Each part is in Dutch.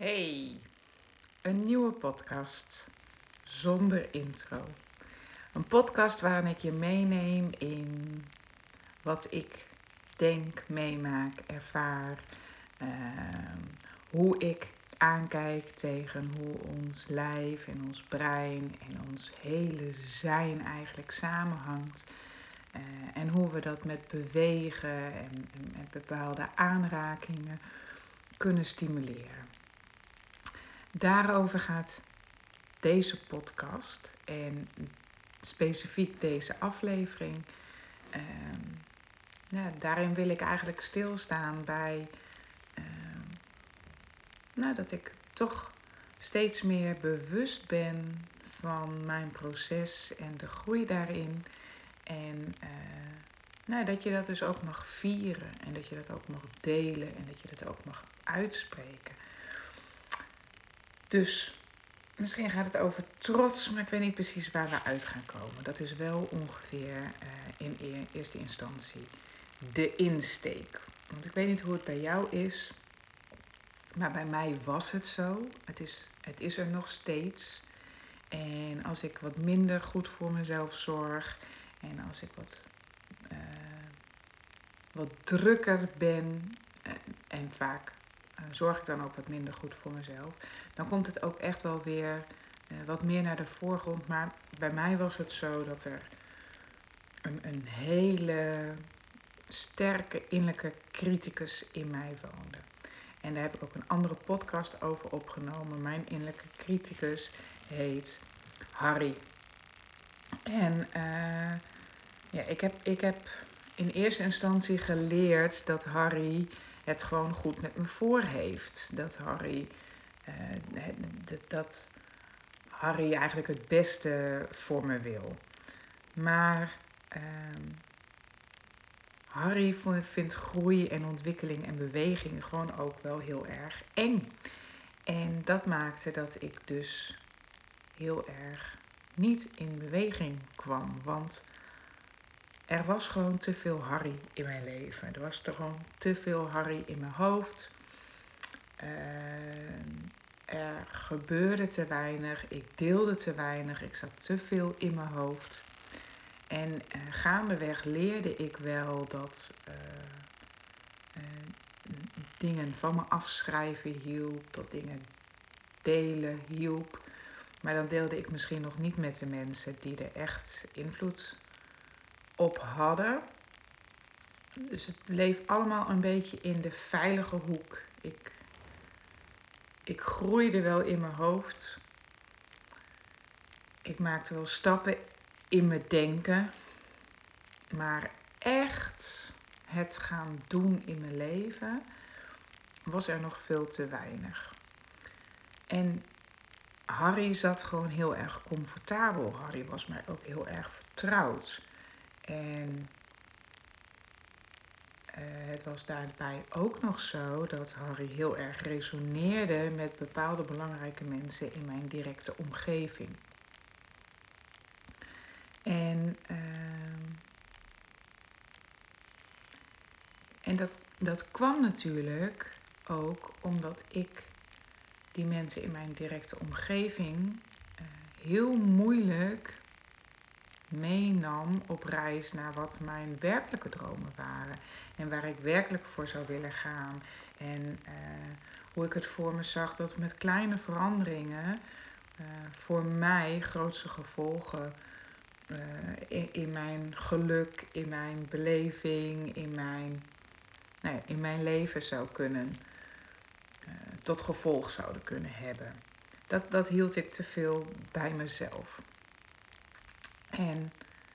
Hey, een nieuwe podcast zonder intro. Een podcast waarin ik je meeneem in wat ik denk, meemaak, ervaar. Hoe ik aankijk tegen hoe ons lijf en ons brein en ons hele zijn eigenlijk samenhangt. En hoe we dat met bewegen en met bepaalde aanrakingen kunnen stimuleren. Daarover gaat deze podcast en specifiek deze aflevering. Daarin wil ik eigenlijk stilstaan bij dat ik toch steeds meer bewust ben van mijn proces en de groei daarin. En dat je dat dus ook mag vieren en dat je dat ook mag delen en dat je dat ook mag uitspreken. Dus misschien gaat het over trots, maar ik weet niet precies waar we uit gaan komen. Dat is wel ongeveer in eerste instantie de insteek. Want ik weet niet hoe het bij jou is, maar bij mij was het zo. Het is er nog steeds. En als ik wat minder goed voor mezelf zorg en als ik wat drukker ben en vaak zorg ik dan ook wat minder goed voor mezelf, dan komt het ook echt wel weer wat meer naar de voorgrond. Maar bij mij was het zo dat er een hele sterke innerlijke criticus in mij woonde. En daar heb ik ook een andere podcast over opgenomen. Mijn innerlijke criticus heet Harry. En ik heb in eerste instantie geleerd dat Harry het gewoon goed met me voor heeft. Dat Harry eigenlijk het beste voor me wil. Maar Harry vindt groei en ontwikkeling en beweging gewoon ook wel heel erg eng. En dat maakte dat ik dus heel erg niet in beweging kwam. Want er was gewoon te veel Harry in mijn leven. Er was er gewoon te veel Harry in mijn hoofd. Er gebeurde te weinig. Ik deelde te weinig. Ik zat te veel in mijn hoofd. En gaandeweg leerde ik wel dat dingen van me afschrijven hielp. Dat dingen delen hielp. Maar dan deelde ik misschien nog niet met de mensen die er echt invloed op hadden. Dus het bleef allemaal een beetje in de veilige hoek. Ik groeide wel in mijn hoofd. Ik maakte wel stappen in mijn denken. Maar echt het gaan doen in mijn leven was er nog veel te weinig. En Harry zat gewoon heel erg comfortabel. Harry was mij ook heel erg vertrouwd. En het was daarbij ook nog zo dat Harry heel erg resoneerde met bepaalde belangrijke mensen in mijn directe omgeving. En dat kwam natuurlijk ook omdat ik die mensen in mijn directe omgeving heel moeilijk meenam op reis naar wat mijn werkelijke dromen waren. En waar ik werkelijk voor zou willen gaan. En hoe ik het voor me zag dat met kleine veranderingen voor mij grootste gevolgen in mijn geluk, in mijn beleving, in mijn leven zou kunnen, tot gevolg zouden kunnen hebben. Dat hield ik te veel bij mezelf. En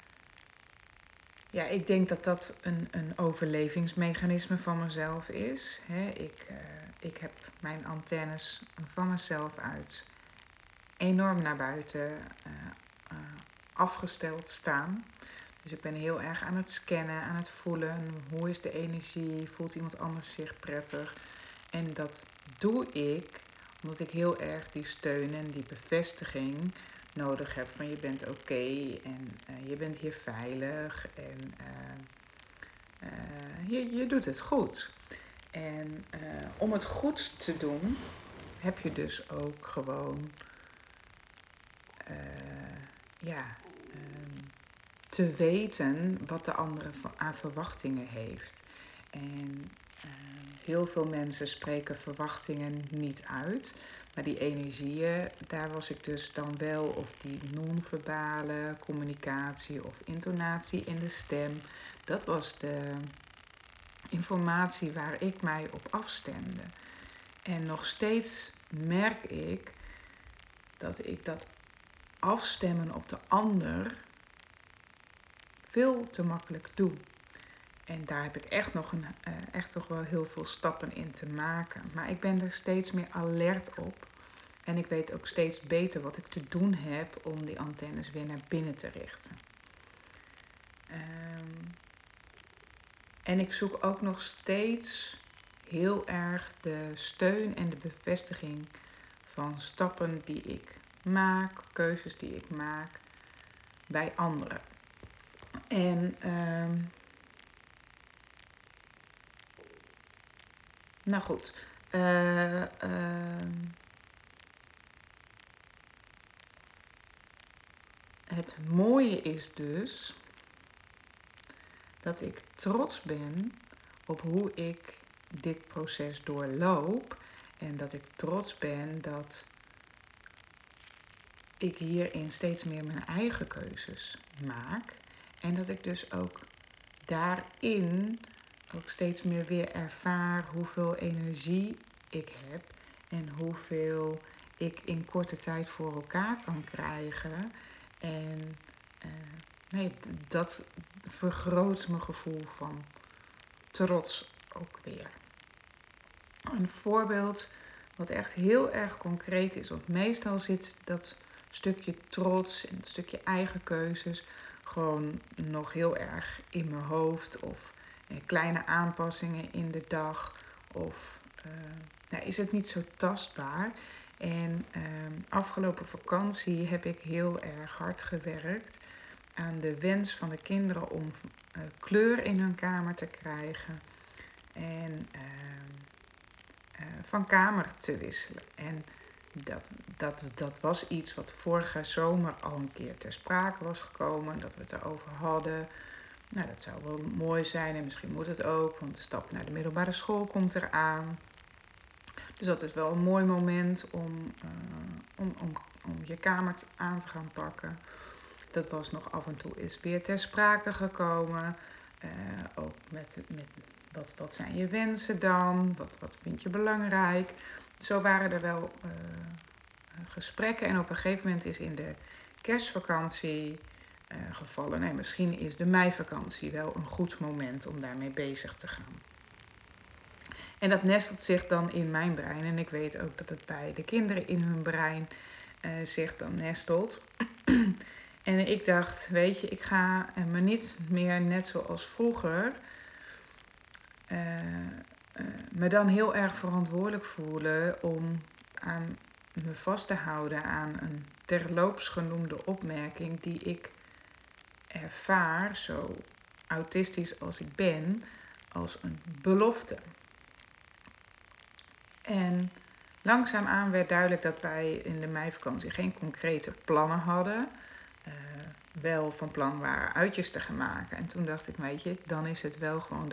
ja, ik denk dat dat een overlevingsmechanisme van mezelf is. Ik heb mijn antennes van mezelf uit enorm naar buiten afgesteld staan. Dus ik ben heel erg aan het scannen, aan het voelen. Hoe is de energie? Voelt iemand anders zich prettig? En dat doe ik omdat ik heel erg die steun en die bevestiging nodig heb van je bent oké en je bent hier veilig en je doet het goed. En om het goed te doen heb je dus ook gewoon te weten wat de andere aan verwachtingen heeft. En heel veel mensen spreken verwachtingen niet uit. Maar die energieën, daar was ik dus dan wel, of die non-verbale communicatie of intonatie in de stem. Dat was de informatie waar ik mij op afstemde. En nog steeds merk ik dat afstemmen op de ander veel te makkelijk doe. En daar heb ik echt toch wel heel veel stappen in te maken. Maar ik ben er steeds meer alert op. En ik weet ook steeds beter wat ik te doen heb om die antennes weer naar binnen te richten. En ik zoek ook nog steeds heel erg de steun en de bevestiging van stappen die ik maak, keuzes die ik maak bij anderen. En nou goed. Het mooie is dus dat ik trots ben op hoe ik dit proces doorloop. En dat ik trots ben dat ik hierin steeds meer mijn eigen keuzes maak. En dat ik dus ook daarin ook steeds meer weer ervaar hoeveel energie ik heb. En hoeveel ik in korte tijd voor elkaar kan krijgen. En dat vergroot mijn gevoel van trots ook weer. Een voorbeeld wat echt heel erg concreet is. Want meestal zit dat stukje trots en dat stukje eigen keuzes gewoon nog heel erg in mijn hoofd. Of kleine aanpassingen in de dag. Of is het niet zo tastbaar. En afgelopen vakantie heb ik heel erg hard gewerkt aan de wens van de kinderen om kleur in hun kamer te krijgen. En van kamer te wisselen. En dat was iets wat vorige zomer al een keer ter sprake was gekomen. Dat we het erover hadden. Nou, dat zou wel mooi zijn en misschien moet het ook. Want de stap naar de middelbare school komt eraan. Dus dat is wel een mooi moment om je kamer aan te gaan pakken. Dat was nog af en toe eens weer ter sprake gekomen. Ook met wat zijn je wensen dan? Wat vind je belangrijk? Zo waren er wel gesprekken. En op een gegeven moment is in de kerstvakantie gevallen. Nee, misschien is de meivakantie wel een goed moment om daarmee bezig te gaan. En dat nestelt zich dan in mijn brein. En ik weet ook dat het bij de kinderen in hun brein zich dan nestelt. En ik dacht, weet je, ik ga me niet meer net zoals vroeger me dan heel erg verantwoordelijk voelen om aan me vast te houden aan een terloops genoemde opmerking die ik ervaar, zo autistisch als ik ben, als een belofte. En langzaamaan werd duidelijk dat wij in de meivakantie geen concrete plannen hadden. Wel van plan waren uitjes te gaan maken. En toen dacht ik, weet je, dan is het wel gewoon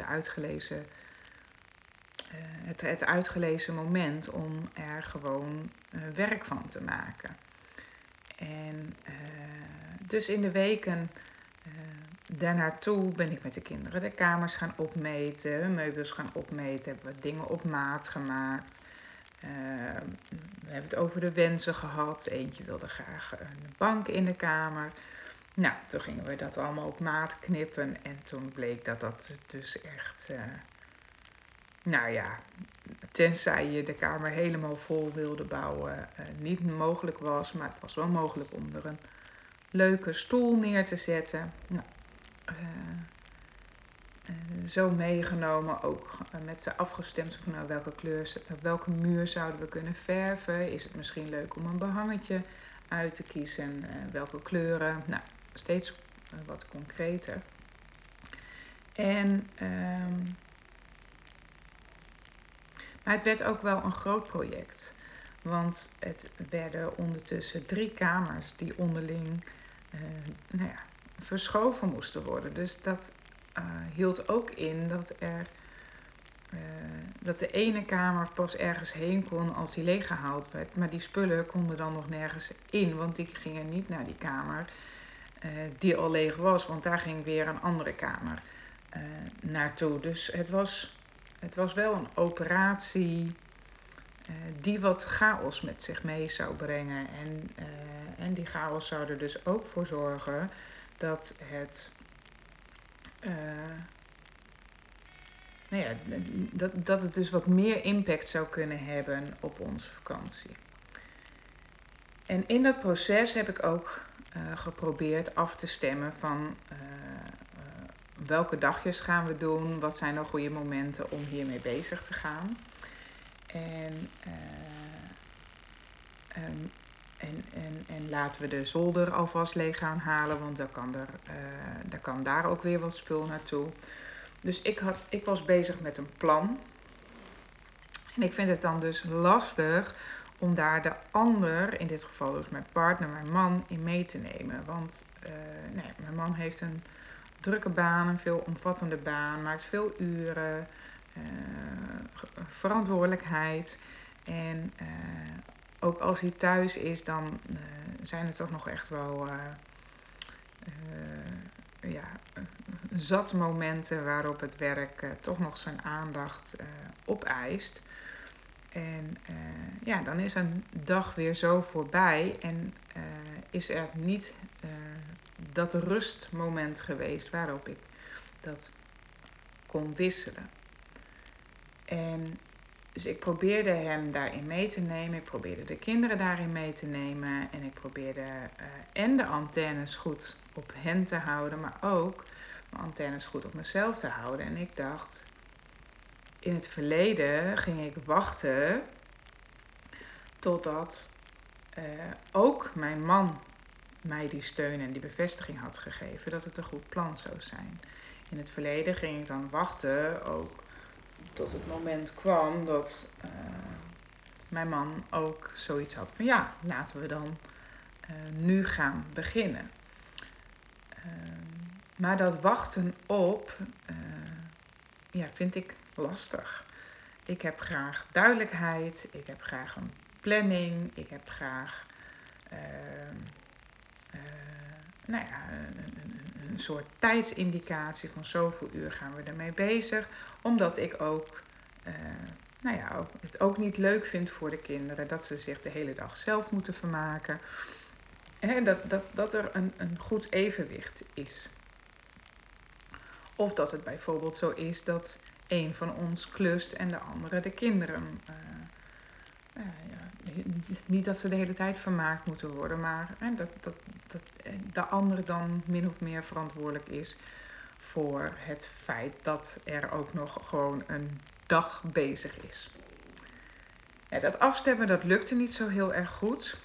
het uitgelezen moment om er gewoon werk van te maken. En dus in de weken daarnaartoe ben ik met de kinderen de kamers gaan opmeten, meubels gaan opmeten, hebben we dingen op maat gemaakt. We hebben het over de wensen gehad. Eentje wilde graag een bank in de kamer. Nou, toen gingen we dat allemaal op maat knippen. En toen bleek dat dus echt... tenzij je de kamer helemaal vol wilde bouwen, niet mogelijk was. Maar het was wel mogelijk om er een leuke stoel neer te zetten. Nou, zo meegenomen, ook met ze afgestemd van nou, welke muur zouden we kunnen verven. Is het misschien leuk om een behangetje uit te kiezen? Welke kleuren? Nou, steeds wat concreter. En, maar het werd ook wel een groot project. Want het werden ondertussen 3 kamers die onderling verschoven moesten worden. Dus dat hield ook in dat de ene kamer pas ergens heen kon als die leeggehaald werd. Maar die spullen konden dan nog nergens in, want die gingen niet naar die kamer die al leeg was. Want daar ging weer een andere kamer naartoe. Dus het was wel een operatie die wat chaos met zich mee zou brengen. En die chaos zou er dus ook voor zorgen dat dat het dus wat meer impact zou kunnen hebben op onze vakantie. En in dat proces heb ik ook geprobeerd af te stemmen van welke dagjes gaan we doen, wat zijn nou goede momenten om hiermee bezig te gaan. En laten we de zolder alvast leeg gaan halen, want dan kan daar ook weer wat spul naartoe. Dus ik was bezig met een plan. En ik vind het dan dus lastig om daar de ander, in dit geval dus mijn partner, mijn man, in mee te nemen. Want mijn man heeft een drukke baan, een veel omvattende baan, maakt veel uren, verantwoordelijkheid. En ook als hij thuis is, dan zijn er toch nog echt wel zat momenten waarop het werk toch nog zijn aandacht opeist. En dan is een dag weer zo voorbij en is er niet dat rustmoment geweest waarop ik dat kon wisselen. En dus ik probeerde hem daarin mee te nemen. Ik probeerde de kinderen daarin mee te nemen. En ik probeerde en de antennes goed op hen te houden, maar ook mijn antennes goed op mezelf te houden. En ik dacht, in het verleden ging ik wachten totdat ook mijn man mij die steun en die bevestiging had gegeven dat het een goed plan zou zijn. In het verleden ging ik dan wachten ook tot het moment kwam dat mijn man ook zoiets had van ja, laten we dan nu gaan beginnen. Maar dat wachten op vind ik lastig. Ik heb graag duidelijkheid, ik heb graag een planning, ik heb graag een soort tijdsindicatie van zoveel uur gaan we ermee bezig. Omdat ik ook het ook niet leuk vind voor de kinderen dat ze zich de hele dag zelf moeten vermaken. Dat er een goed evenwicht is. Of dat het bijvoorbeeld zo is dat een van ons klust en de andere de kinderen. Niet dat ze de hele tijd vermaakt moeten worden, maar dat de ander dan min of meer verantwoordelijk is voor het feit dat er ook nog gewoon een dag bezig is. Dat afstemmen, dat lukte niet zo heel erg goed.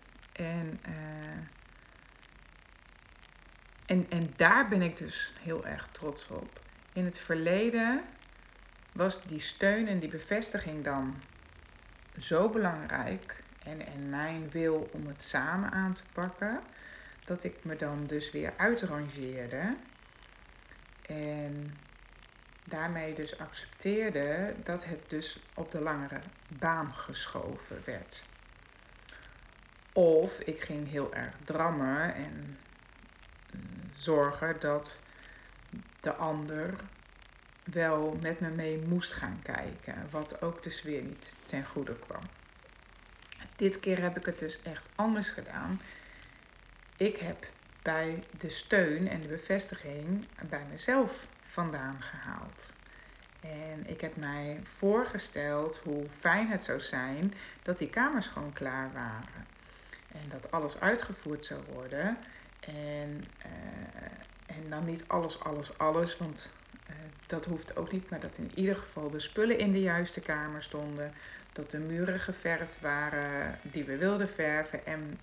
En daar ben ik dus heel erg trots op. In het verleden was die steun en die bevestiging dan zo belangrijk en mijn wil om het samen aan te pakken, dat ik me dan dus weer uitrangeerde en daarmee dus accepteerde dat het dus op de langere baan geschoven werd. Of ik ging heel erg drammen en zorgen dat de ander wel met me mee moest gaan kijken, wat ook dus weer niet ten goede kwam. Dit keer heb ik het dus echt anders gedaan. Ik heb bij de steun en de bevestiging bij mezelf vandaan gehaald. En ik heb mij voorgesteld hoe fijn het zou zijn dat die kamers gewoon klaar waren. En dat alles uitgevoerd zou worden. En dan niet alles, want dat hoeft ook niet. Maar dat in ieder geval de spullen in de juiste kamer stonden. Dat de muren geverfd waren die we wilden verven en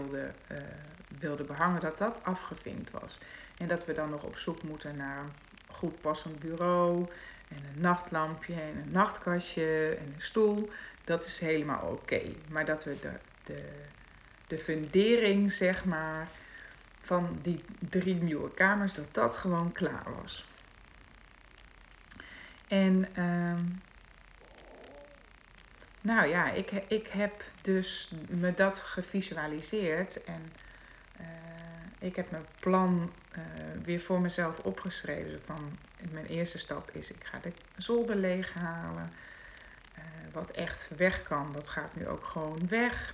wilden behangen. Dat afgevinkt was. En dat we dan nog op zoek moeten naar een goed passend bureau en een nachtlampje en een nachtkastje en een stoel. Dat is helemaal oké. Maar dat we de fundering, zeg maar, van die 3 nieuwe kamers, dat dat gewoon klaar was. En nou ja, ik heb dus me dat gevisualiseerd en ik heb mijn plan weer voor mezelf opgeschreven. Van, mijn eerste stap is, ik ga de zolder leeghalen. Wat echt weg kan, dat gaat nu ook gewoon weg.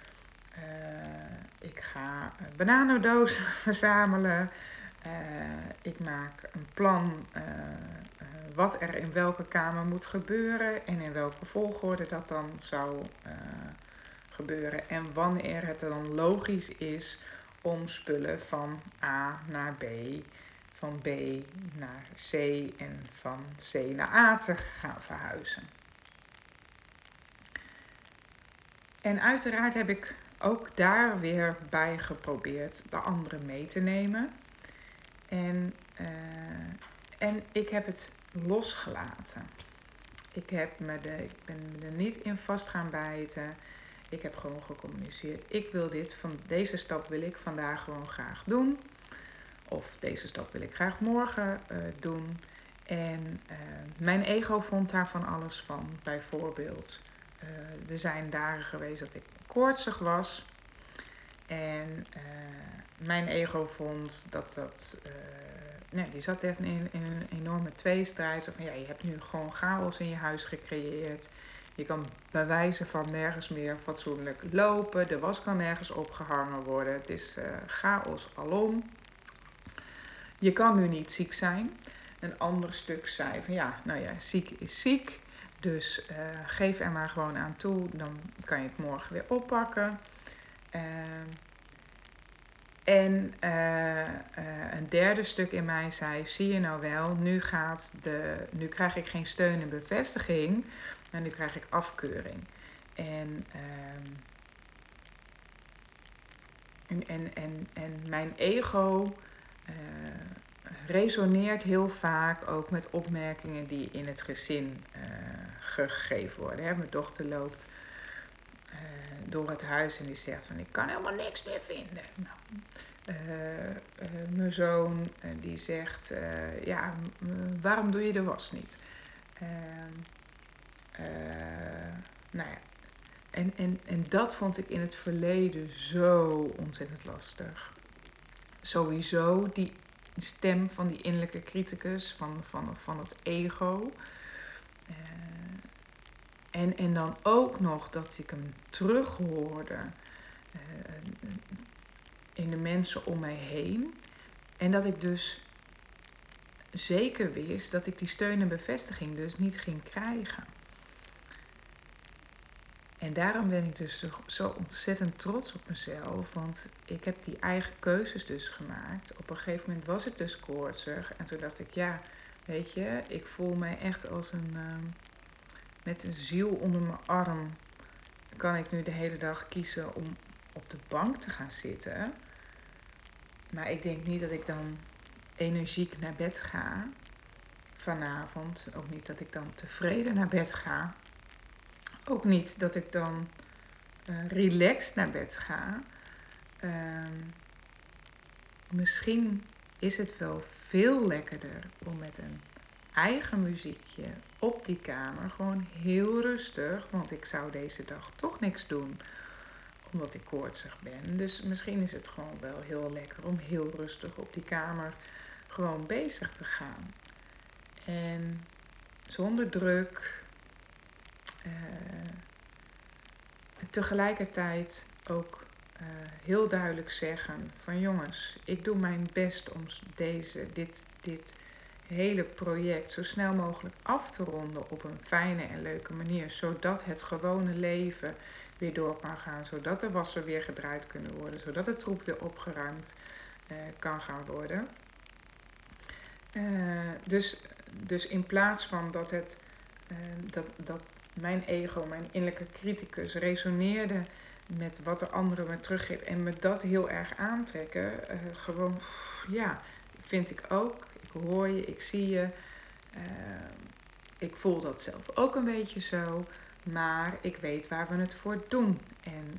Ik ga bananendozen verzamelen. Ik maak een plan wat er in welke kamer moet gebeuren en in welke volgorde dat dan zou gebeuren. En wanneer het dan logisch is om spullen van A naar B, van B naar C en van C naar A te gaan verhuizen. En uiteraard heb ik ook daar weer bij geprobeerd de anderen mee te nemen. En ik heb het losgelaten. Ik ben me er niet in vast gaan bijten. Ik heb gewoon gecommuniceerd. Deze stap wil ik vandaag gewoon graag doen. Of deze stap wil ik graag morgen doen. En mijn ego vond daar van alles van. Bijvoorbeeld, er zijn dagen geweest dat ik koortsig was. En mijn ego vond die zat echt in een enorme tweestrijd. Van, ja, je hebt nu gewoon chaos in je huis gecreëerd. Je kan bij wijze van nergens meer fatsoenlijk lopen. De was kan nergens opgehangen worden. Het is chaos alom. Je kan nu niet ziek zijn. Een ander stuk zei van ziek is ziek. Dus geef er maar gewoon aan toe. Dan kan je het morgen weer oppakken. En een derde stuk in mij zei, zie je nou wel, nu krijg ik geen steun en bevestiging, maar nu krijg ik afkeuring. En mijn ego resoneert heel vaak ook met opmerkingen die in het gezin gegeven worden. Mijn dochter loopt door het huis en die zegt van, ik kan helemaal niks meer vinden. Nou, mijn zoon die zegt, waarom doe je de was niet? Nou ja, en dat vond ik in het verleden zo ontzettend lastig. Sowieso die stem van die innerlijke criticus, van het ego. En dan ook nog dat ik hem terughoorde in de mensen om mij heen. En dat ik dus zeker wist dat ik die steun en bevestiging dus niet ging krijgen. En daarom ben ik dus zo ontzettend trots op mezelf. Want ik heb die eigen keuzes dus gemaakt. Op een gegeven moment was ik dus koortsig. En toen dacht ik, ja, weet je, ik voel mij echt als met een ziel onder mijn arm. Kan ik nu de hele dag kiezen om op de bank te gaan zitten. Maar ik denk niet dat ik dan energiek naar bed ga vanavond. Ook niet dat ik dan tevreden naar bed ga. Ook niet dat ik dan relaxed naar bed ga. Misschien is het wel veel lekkerder om met een eigen muziekje op die kamer gewoon heel rustig. Want ik zou deze dag toch niks doen omdat ik koortsig ben. Dus misschien is het gewoon wel heel lekker om heel rustig op die kamer gewoon bezig te gaan. En zonder druk. Tegelijkertijd ook heel duidelijk zeggen van jongens, ik doe mijn best om dit hele project zo snel mogelijk af te ronden op een fijne en leuke manier. Zodat het gewone leven weer door kan gaan. Zodat de wassen weer gedraaid kunnen worden. Zodat de troep weer opgeruimd kan gaan worden. Dus in plaats van dat mijn ego, mijn innerlijke criticus, resoneerde met wat de anderen me teruggeven en me dat heel erg aantrekken, vind ik ook. Ik hoor je, ik zie je. Ik voel dat zelf ook een beetje zo. Maar ik weet waar we het voor doen. En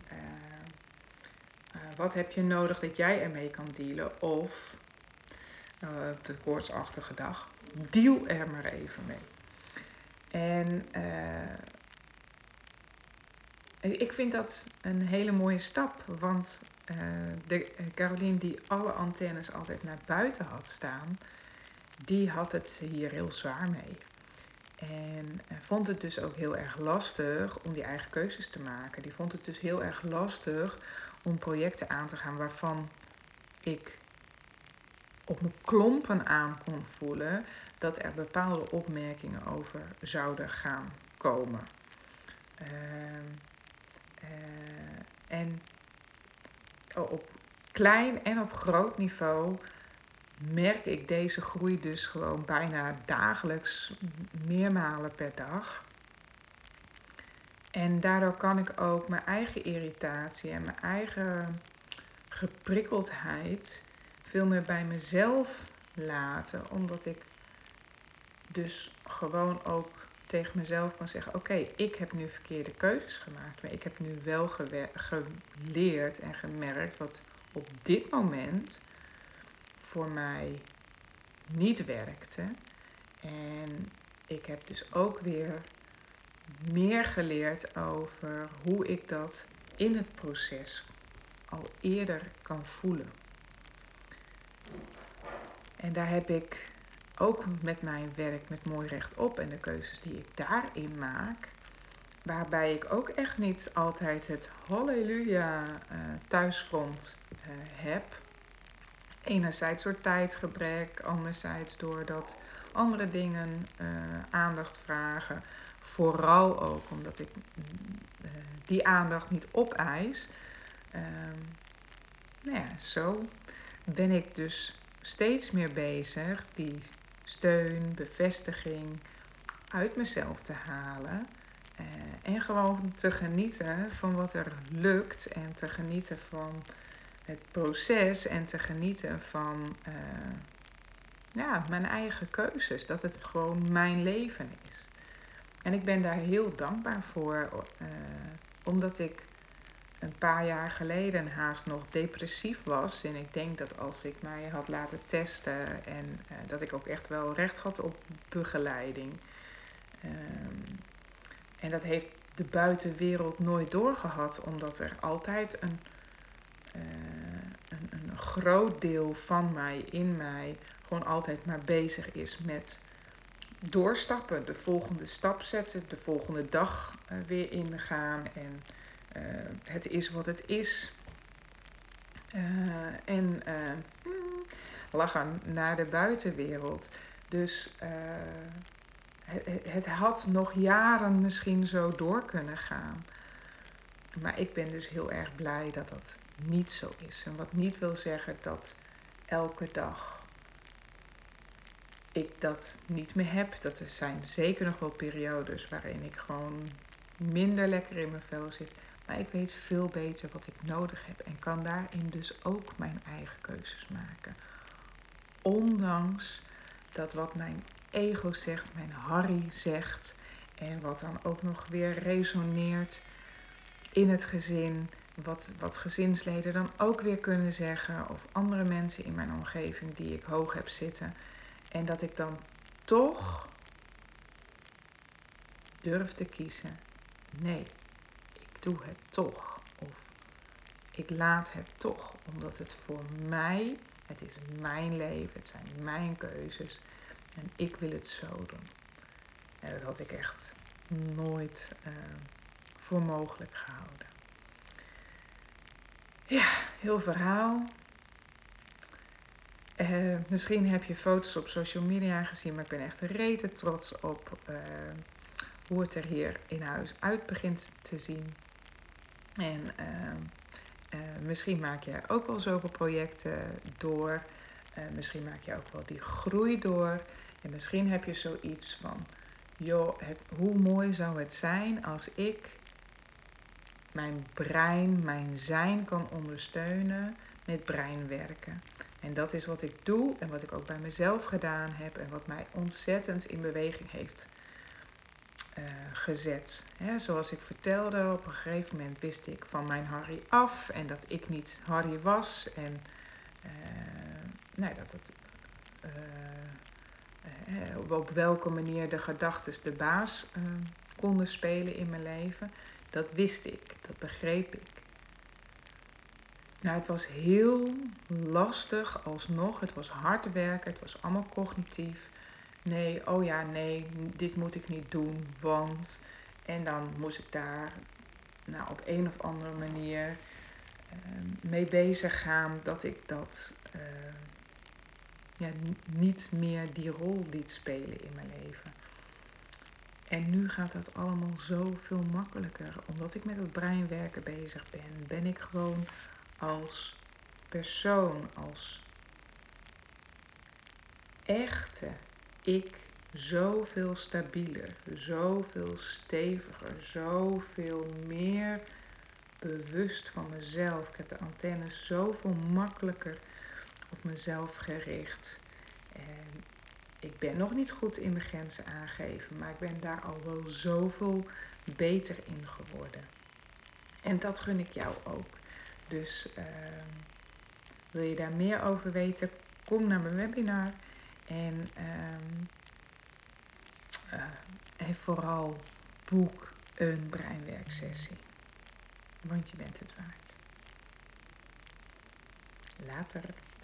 wat heb je nodig dat jij ermee kan dealen? Of de koortsachtige dag, deal er maar even mee. En ik vind dat een hele mooie stap. Want de Caroline die alle antennes altijd naar buiten had staan, die had het hier heel zwaar mee. En vond het dus ook heel erg lastig om die eigen keuzes te maken. Die vond het dus heel erg lastig om projecten aan te gaan waarvan ik op mijn klompen aan kon voelen dat er bepaalde opmerkingen over zouden gaan komen. En op klein en op groot niveau merk ik deze groei dus gewoon bijna dagelijks, meermalen per dag. En daardoor kan ik ook mijn eigen irritatie en mijn eigen geprikkeldheid veel meer bij mezelf laten. Omdat ik dus gewoon ook tegen mezelf kan zeggen, oké, ik heb nu verkeerde keuzes gemaakt. Maar ik heb nu wel geleerd en gemerkt wat op dit moment voor mij niet werkte. En ik heb dus ook weer meer geleerd over hoe ik dat in het proces al eerder kan voelen. En daar heb ik ook met mijn werk met Mooi Rechtop en de keuzes die ik daarin maak, waarbij ik ook echt niet altijd het halleluja thuisfront heb. Enerzijds door tijdgebrek, anderzijds doordat andere dingen aandacht vragen. Vooral ook omdat ik die aandacht niet opeis. Zo ben ik dus steeds meer bezig die steun, bevestiging uit mezelf te halen. En gewoon te genieten van wat er lukt en te genieten van het proces en te genieten van mijn eigen keuzes. Dat het gewoon mijn leven is. En ik ben daar heel dankbaar voor, omdat ik een paar jaar geleden haast nog depressief was. En ik denk dat als ik mij had laten testen en dat ik ook echt wel recht had op begeleiding. En dat heeft de buitenwereld nooit doorgehad, omdat er altijd een groot deel van mij, in mij, gewoon altijd maar bezig is met doorstappen. De volgende stap zetten, de volgende dag weer ingaan en het is wat het is. Lachen naar de buitenwereld. Dus het had nog jaren misschien zo door kunnen gaan. Maar ik ben dus heel erg blij dat dat niet zo is. En wat niet wil zeggen dat elke dag ik dat niet meer heb. Dat er zijn zeker nog wel periodes waarin ik gewoon minder lekker in mijn vel zit. Maar ik weet veel beter wat ik nodig heb. En kan daarin dus ook mijn eigen keuzes maken. Ondanks dat wat mijn ego zegt, mijn Harry zegt. En wat dan ook nog weer resoneert in het gezin. Wat gezinsleden dan ook weer kunnen zeggen. Of andere mensen in mijn omgeving die ik hoog heb zitten. En dat ik dan toch durf te kiezen. Nee, ik doe het toch. Of ik laat het toch. Omdat het voor mij, het is mijn leven, het zijn mijn keuzes. En ik wil het zo doen. En dat had ik echt nooit voor mogelijk gehouden. Ja, heel verhaal. Misschien heb je foto's op social media gezien, maar ik ben echt rete trots op hoe het er hier in huis uit begint te zien. En misschien maak je ook wel zoveel projecten door. Misschien maak je ook wel die groei door. En misschien heb je zoiets van, joh, hoe mooi zou het zijn als ik mijn brein, mijn zijn kan ondersteunen met breinwerken. En dat is wat ik doe en wat ik ook bij mezelf gedaan heb en wat mij ontzettend in beweging heeft gezet. Zoals ik vertelde, op een gegeven moment wist ik van mijn Harry af en dat ik niet Harry was. En dat het, op welke manier de gedachten de baas konden spelen in mijn leven. Dat wist ik, dat begreep ik. Nou, het was heel lastig alsnog. Het was hard werken, het was allemaal cognitief. Nee, dit moet ik niet doen, want... En dan moest ik daar op een of andere manier mee bezig gaan dat ik dat niet meer die rol liet spelen in mijn leven. En nu gaat dat allemaal zoveel makkelijker. Omdat ik met het breinwerken bezig ben, ben ik gewoon als persoon, als echte ik zoveel stabieler, zoveel steviger, zoveel meer bewust van mezelf. Ik heb de antennes zoveel makkelijker op mezelf gericht. En ik ben nog niet goed in mijn grenzen aangeven, maar ik ben daar al wel zoveel beter in geworden. En dat gun ik jou ook. Dus wil je daar meer over weten, kom naar mijn webinar. En vooral boek een breinwerksessie. Want je bent het waard. Later.